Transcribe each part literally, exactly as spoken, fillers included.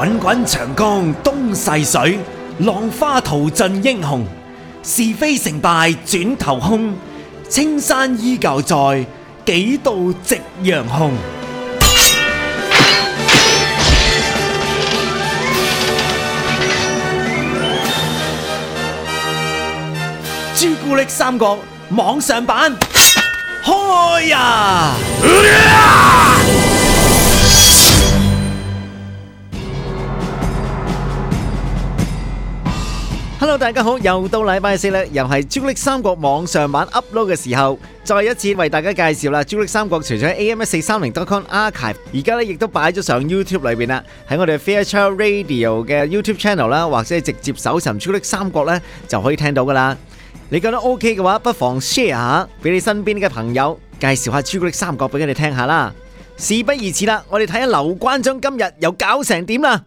滾滾長江東逝水，浪花淘盡英雄。是非成敗轉頭空，青山依舊在，幾度夕陽紅。朱古力三國網上版開呀！Hello， 大家好，又到禮拜四啦，又係朱古力三國網上版 upload 嘅時候，再一次為大家介紹啦。朱古力三國除咗喺 A M 一四三零 dot com archive， 而家咧亦都擺咗上 YouTube 裏邊啦，喺我哋 Fairchild Radio 嘅 YouTube channel 啦，或者係直接搜尋朱古力三國咧，就可以聽到噶啦。你覺得 OK 嘅話，不妨 share 下俾你身邊嘅朋友，介紹下朱古力三國俾佢哋聽下啦。事不宜遲啦，我哋睇下劉關張今日又搞成點啦。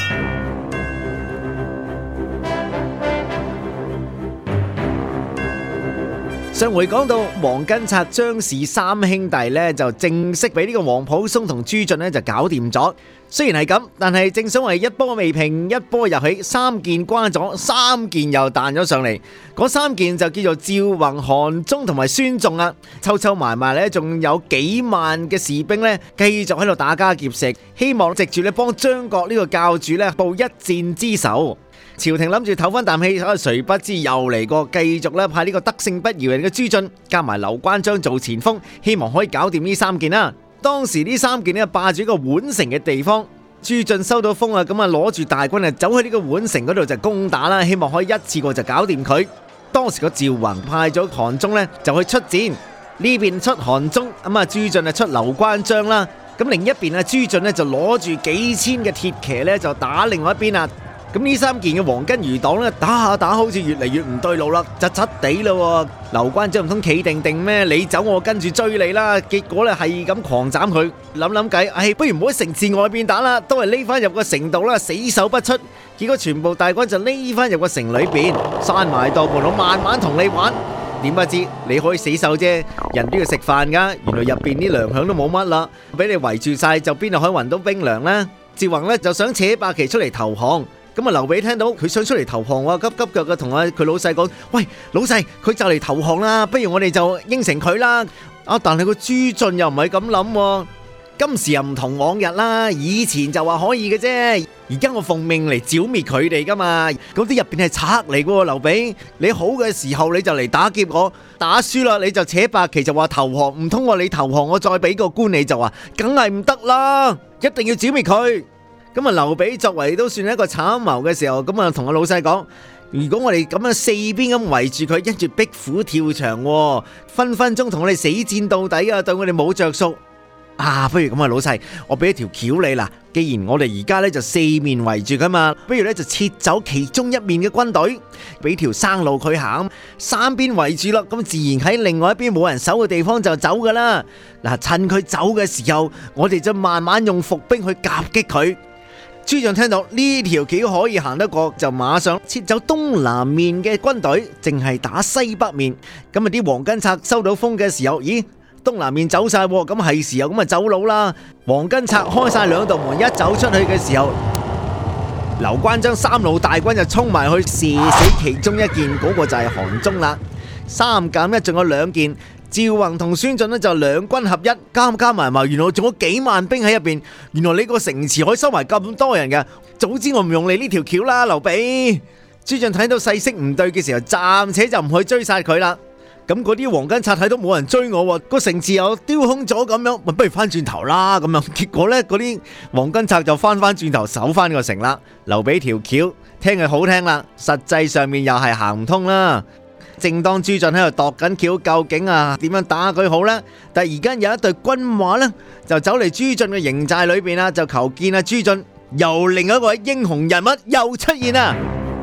上回講到黃巾賊張氏三兄弟咧，就正式俾呢個皇甫嵩同朱俊咧就搞掂咗。雖然係咁，但係正所謂一波未平一波又起，三件瓜咗，三件又彈咗上嚟。嗰三件就叫做趙宏、韓忠同埋孫仲啊，湊湊埋埋咧，仲有幾萬嘅士兵咧，繼續喺度打家劫舍，希望藉住咧幫張角呢個教主咧報一箭之仇。朝廷諗住唞翻啖氣，誰不知又嚟過，繼續咧派呢個得勝不饒人嘅朱俊加埋劉關張做前鋒，希望可以搞掂呢三件啦。當時呢三件咧霸住一個宛城嘅地方，朱俊收到風啊，咁啊攞住大軍啊走去呢個宛城嗰度就攻打啦，希望可以一次過就搞掂佢。當時個趙宏派咗韓忠咧就去出戰，呢邊出韓忠，咁啊朱俊啊出劉關張啦，咁另一邊啊朱俊咧就攞住幾千嘅鐵騎咧就打另外一邊啊。咁呢三件嘅黃巾餘黨咧打下打好似越嚟越唔對路啦，窒窒地咯。劉關張唔通企定定咩？你走我跟住追你啦。結果咧係咁狂斬佢，諗諗計，唉，不如唔好喺城市外邊打啦，都係匿翻入個城度啦，死守不出。結果全部大軍就匿翻入個城裏邊，閂埋道門，我慢慢同你玩。點不知你可以死守啫，人都要食飯噶。原來入邊啲糧餉都冇乜啦，俾你圍住晒，就邊度可以搵到兵糧呢？趙宏咧就想扯白旗出嚟投降。咁啊，劉備聽到佢想出嚟投降喎，急急腳嘅同啊佢老細講：喂，老細，佢就嚟投降啦，不如我哋就應承佢啦。啊，但係個朱俊又唔係咁諗，今時又唔同往日啦。以前就話可以嘅啫，而家我奉命嚟剿滅佢哋噶嘛。嗰啲入邊係賊嚟噶喎，劉備，你好嘅時候你就嚟打劫我，打輸啦你就扯白旗就話投降，唔通話你投降我再俾個官你就話，梗係唔得啦，一定要剿滅佢。咁啊，劉備作為都算係一個參謀嘅時候，咁啊同個老細講：如果我哋咁樣四邊咁圍住佢，跟住壁虎跳牆，分分鐘同我哋死戰到底啊！對我哋冇着數啊！不如咁啊，老細，我俾一條橋你啦。既然我哋而家咧就四面圍住佢嘛，不如咧就撤走其中一面嘅軍隊，俾條生路佢行，三邊圍住啦，咁自然喺另外一邊冇人守嘅地方就走噶啦。嗱，趁佢走嘅時候，我哋就慢慢用伏兵去夾擊佢。朱俊聽到呢條橋可以行得過，就馬上撤走東南面嘅軍隊，淨係打西北面。咁啊，啲黃巾賊收到風嘅時候，咦，東南面走晒，咁係時候咁啊走佬啦。黃巾賊開晒兩道門，一走出去嘅時候，劉關張三路大軍就衝埋去，射死其中一件，嗰個就係韓忠啦。三減一，仲有兩件。趙宏同孫俊呢就兩軍合一，加加埋埋，原來仲有幾萬兵喺入邊。原來你個城池可以收埋咁多人嘅，早知我唔用你呢條橋啦，劉備。朱俊睇到勢色唔對嘅時候，暫且就唔去追殺佢啦。咁嗰啲黃巾賊睇到冇人追我，個城池又丟空咗咁樣，咪不如翻轉頭啦咁樣。結果呢，嗰啲黃巾賊就翻翻轉頭守翻個城啦。劉備條橋聽佢好聽啦，實際上面又係行唔通啦。正當朱俊喺度度緊橋，究竟啊點樣打佢好呢？但係而家有一隊軍馬呢，就走嚟朱俊嘅營寨裏邊啦，就求見啊朱俊。又另一位英雄人物又出現啦，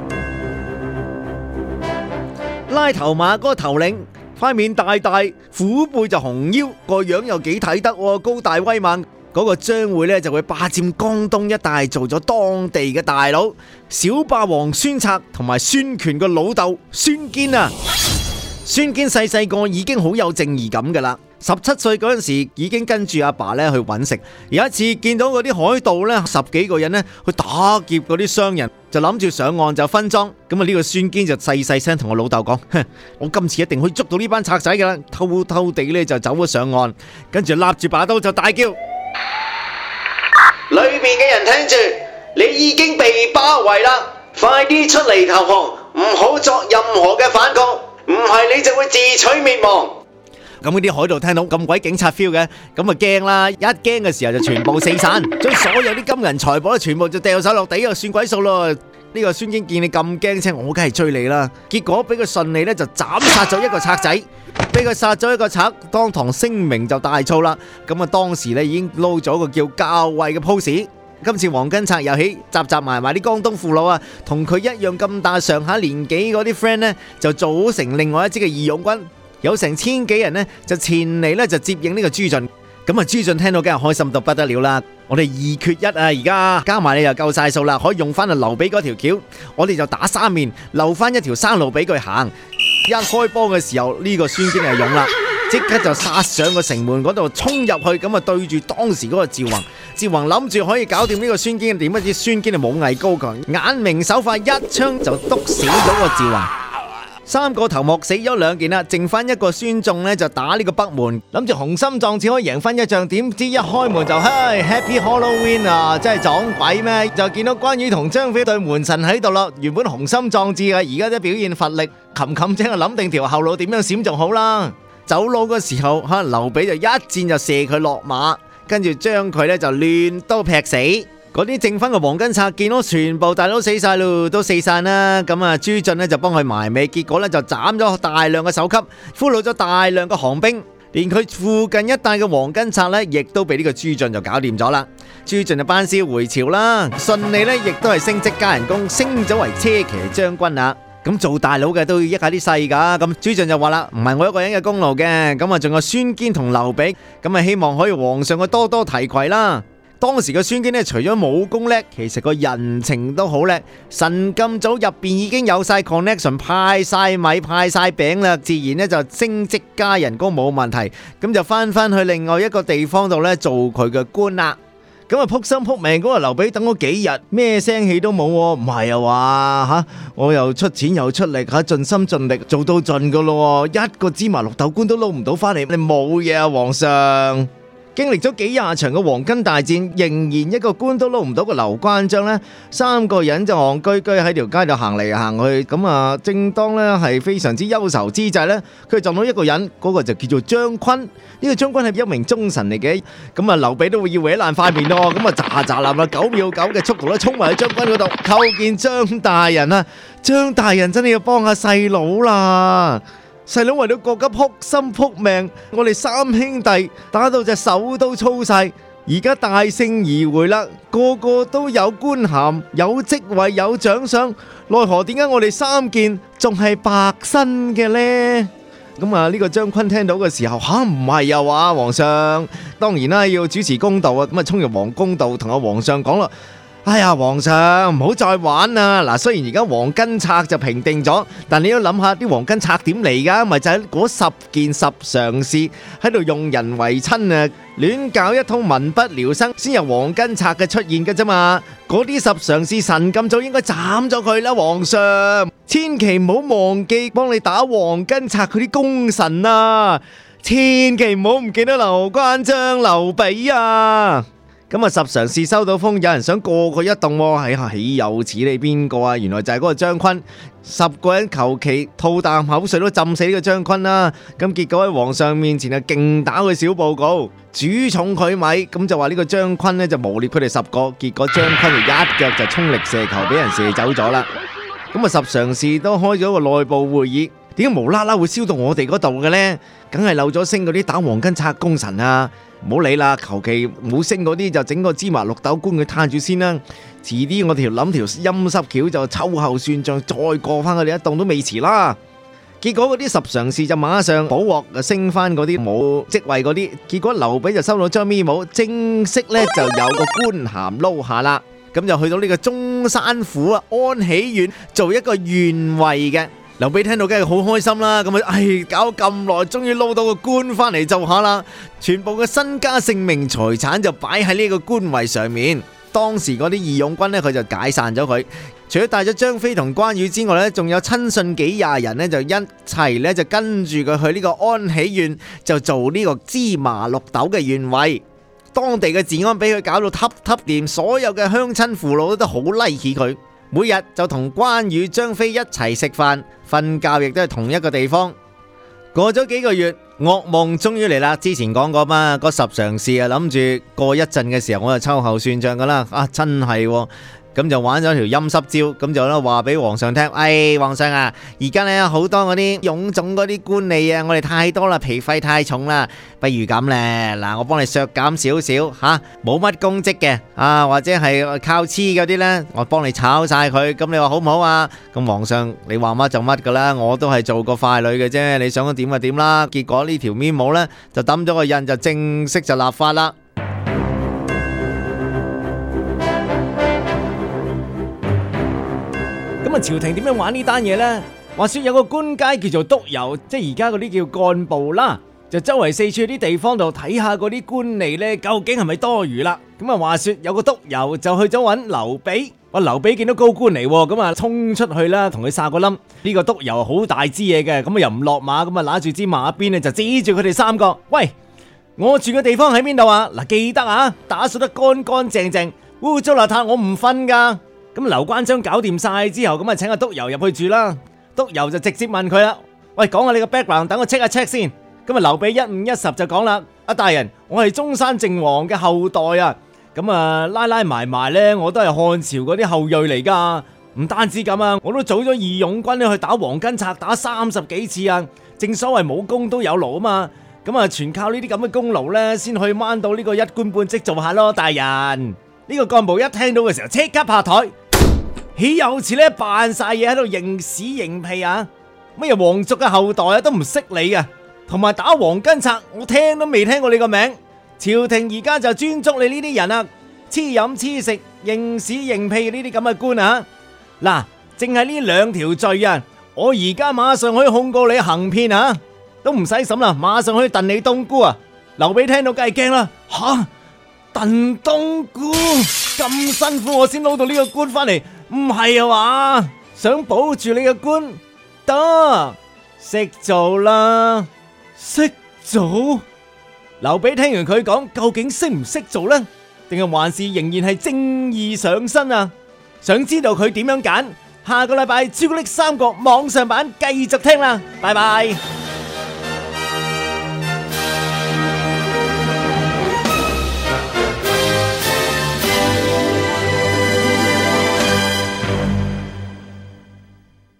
拉頭馬嗰個頭領，塊面大大，虎背就熊腰，個樣又幾睇得，高大威猛。嗰個將會咧就會霸佔江東一帶，做咗當地嘅大佬。小霸王孫策同埋孫權個老豆孫堅啊，孫堅細細個已經好有正義感噶啦。 十七歲嗰陣時已經跟住阿爸咧去揾食，有一次見到嗰啲海盜咧十幾個人咧去打劫嗰啲商人，就諗住上岸就分贓。咁啊呢個孫堅就細細聲同我老豆講：我今次一定可以捉到呢班賊仔噶啦！偷偷地咧就走咗上岸，跟住立住把刀就大叫：裏面嘅人聽住，你已經被包圍啦，快啲出嚟投降，唔好作任何嘅反抗，唔係你就會自取滅亡。咁嗰啲海盜聽到咁鬼警察 feel 嘅，咁啊驚啦！一驚嘅時候就全部四散，將所有啲金銀財寶咧全部就掉手落地，就算鬼數咯。呢個孫堅見你咁驚青，我梗係追你啦。結果俾佢順利咧就斬殺咗一個賊仔，俾佢殺咗一個賊，當堂聲名就大噪啦。咁啊當時咧已經撈咗個叫校尉嘅 pose。今次黃巾賊又起集集埋埋啲江東父老啊，同佢一樣咁大上下年紀嗰啲 friend 呢，就組成另外一支嘅義勇軍。有成千幾人呢，就前嚟呢，就接應呢個朱俊。咁啊，朱俊聽到梗係開心到不得了啦！我哋二缺一啊，而家加埋你又夠晒數啦，可以用翻阿劉備嗰條橋，我哋就打三面，留翻一條生路俾佢行。一開波嘅時候，呢個孫堅就勇啦，即刻就殺上個城門嗰度衝入去，咁啊對住當時嗰個趙宏。趙宏諗住可以搞掂呢個孫堅，點不知孫堅就武藝高強，眼明手快，一槍就篤死咗個趙宏。三個頭目死咗兩件啦，剩翻一個孫仲呢，就打呢個北門，諗住雄心壯志可以贏翻一仗，點知一開門就嘿 Happy Halloween 啊！真係撞鬼咩？就見到關羽同張飛對門神喺度咯。原本雄心壯志嘅，而家都表現乏力，冚冚聲啊諗定條後路點樣閃仲好啦。走佬嘅時候，可能劉備就一箭就射佢落馬，跟住將佢呢就亂刀劈死。嗰啲剩翻嘅黃巾賊見到全部大佬死晒咯，都四散啦。咁啊，朱俊呢就幫佢埋尾，結果呢就斬咗大量嘅首級，俘虜咗大量嘅降兵，連佢附近一帶嘅黃巾賊呢，亦都被呢個朱俊就搞掂咗啦。朱俊就班師回朝啦，順利呢亦都係升職加人工，升咗為車騎將軍啦。咁做大佬嘅都要益下啲細噶，咁朱俊就話啦，唔係我一個人嘅功勞嘅，咁啊仲有孫堅同劉備，咁啊希望可以皇上嘅多多提攜啦。當時嘅孫堅呢，除咗武功叻，其實個人情都好叻。神咁早入邊已經有晒 connection， 派晒米派晒餅啦，自然呢就升職加人工冇問題。咁就翻翻去另外一個地方度呢，做佢嘅官啦。咁啊撲心撲命嗰個劉備等咗幾日，咩聲氣都冇，唔係啊話吓，我又出錢又出力吓，盡心盡力做到盡噶咯，一個芝麻綠豆官都撈唔到翻嚟，你冇嘢啊皇上。經歷咗幾廿場嘅黃巾大戰，仍然一個官都撈唔到嘅劉關張呢，三個人就戇居居喺條街度行嚟行去。咁啊，正當呢係非常之憂愁之際呢，佢撞到一個人，嗰個就叫做張崑。呢個張崑係一名忠臣嚟嘅，咁啊劉備都會要搲爛塊面咯。咁啊喳喳冧啦，九秒九嘅速度咧，衝埋去張崑嗰度，叩見張大人啊！張大人真係要幫下細佬啦！細佬為咗國家撲心撲命，我哋三兄弟打到隻手都粗晒，而家大勝而回啦，個個都有官銜、有職位、有獎賞，奈何點解我哋三件仲係白身嘅呢？咁啊，呢個張崑聽到嘅時候，吓唔係啊話皇上，當然啦，要主持公道啊，咁啊衝入皇宮度同阿皇上講啦。哎呀，皇上唔好再玩啦！嗱，雖然而家黃巾賊就平定咗，但你要諗下啲黃巾賊點嚟噶？咪就係嗰十件十常侍喺度用人為親啊，亂搞一通民不聊生，先有黃巾賊嘅出現嘅啫嘛！嗰啲十常侍神咁早應該斬咗佢啦，皇上千祈唔好忘記幫你打黃巾賊佢啲功臣啊！千祈唔好唔記得劉關張、劉備啊！咁啊，十常侍收到風，有人想過佢一動喎，哎呀，豈有此理，邊個啊？原來就係嗰個張崑，十個人求其吐啖口水都浸死呢個張崑啦。咁結果喺皇上面前啊，勁打佢小報告，主重佢米，咁就話呢個張崑呢就誣衊佢哋十個，結果張崑就一腳就衝力射球，俾人射走咗啦。咁啊，十常侍都開咗個內部會議，點解無啦啦會燒到我哋嗰度嘅呢？梗係漏咗星嗰啲打黃巾賊功臣啊！唔好理啦，求其冇升嗰啲就整個芝麻綠豆官佢攤住先啦。遲啲我條諗條陰濕橋就秋後算賬，再過翻佢哋一棟都未遲啦。結果嗰啲十常侍就馬上補鑊，就升翻嗰啲冇職位嗰啲。結果劉備就收到張咪帽，正式咧就有個官銜撈下啦。咁就去到呢個中山府啊安喜縣做一個縣尉嘅。 劉備聽到梗係好開心啦，咁啊，唉，搞咁耐，終於撈到個官翻嚟就下啦，全部嘅身家性命財產就擺喺呢個官位上面。當時嗰啲義勇軍呢，佢就解散咗佢，除咗帶咗張飛同關羽之外呢，仲有親信幾廿人呢，就一齊呢，就跟住佢去呢個安喜縣，就做呢個芝麻綠豆嘅縣尉。當地嘅治安俾佢搞到揼揼掂，所有嘅鄉親父老都好 like 佢。每日就同關羽、張飛一齊食飯、瞓覺，亦都係同一個地方。過咗幾個月，噩夢終於嚟啦。之前講過嘛，嗰十常侍啊，諗住過一陣嘅時候，我就秋後算賬噶啦。啊，真係喎。咁就玩咗條陰濕招，咁就咧話俾皇上聽，哎，皇上啊，而家呢好多嗰啲臃腫嗰啲官吏啊，我哋太多啦，皮費太重啦，不如咁咧，嗱，我幫你削減少少吓，冇乜公職嘅啊，或者係靠黐嗰啲呢，我幫你炒晒佢，咁你話好唔好啊？咁皇上你話乜就乜噶啦，我都係做個傀儡嘅啫，你想點就點啦。結果呢條 memo 呢就抌咗個印，就正式就立法啦。咁啊，朝廷點樣玩呢單嘢呢？話說有個官階叫做督郵，即係而家嗰啲叫幹部啦，就周圍四處啲地方度睇下嗰啲官吏呢，究竟係咪多餘啦？咁啊，話說有個督郵就去咗揾劉備，話劉備見到高官嚟，咁啊衝出去啦，同佢撒個冧。呢個督郵好大支嘢嘅，咁啊又唔落馬，咁啊拿住支馬鞭咧就指住佢哋三個，喂，我住嘅地方喺邊度啊？嗱，記得啊，打掃得乾乾淨淨，污糟邋遢我唔瞓噶。咁劉關張搞掂晒之後，咁啊請阿督郵入去住啦。督郵就直接問佢啦，喂，講下你個 background，等我 check 一 check 先。咁啊劉備一五一十就講啦，阿大人，我係中山靖王嘅後代啊。咁啊拉拉埋埋呢，我都係漢朝嗰啲後裔嚟噶。唔單止咁啊，我都組咗義勇軍去打黃巾賊，打三十幾次啊。正所謂冇功都有勞啊嘛。咁啊全靠呢啲咁嘅功勞呢，先可以掹到呢個一官半職做下咯。大人，呢個幹部一聽到嘅時候，即刻拍台。豈有此呢？扮晒嘢喺度認屎認屁啊！乜嘢皇族嘅後代啊，都唔識你啊！同埋打黃巾賊，我聽都未聽過你個名。朝廷而家就專捉你呢啲人啊，黐飲黐食、認屎認屁呢啲咁嘅官啊！嗱，淨係呢兩條罪啊，我而家馬上可以控告你行騙啊，都唔使審啦，馬上可以燉你冬菇啊！劉備聽到梗係驚啦，吓，燉冬菇咁辛苦，我先撈到呢個官翻嚟。唔係啊嘛，想保住你嘅官，得識做啦，識做。劉備聽完佢講，究竟識唔識做呢？定係還是仍然係正義上身啊？想知道佢點樣揀？下個禮拜朱古力三國網上版繼續聽啦，拜拜。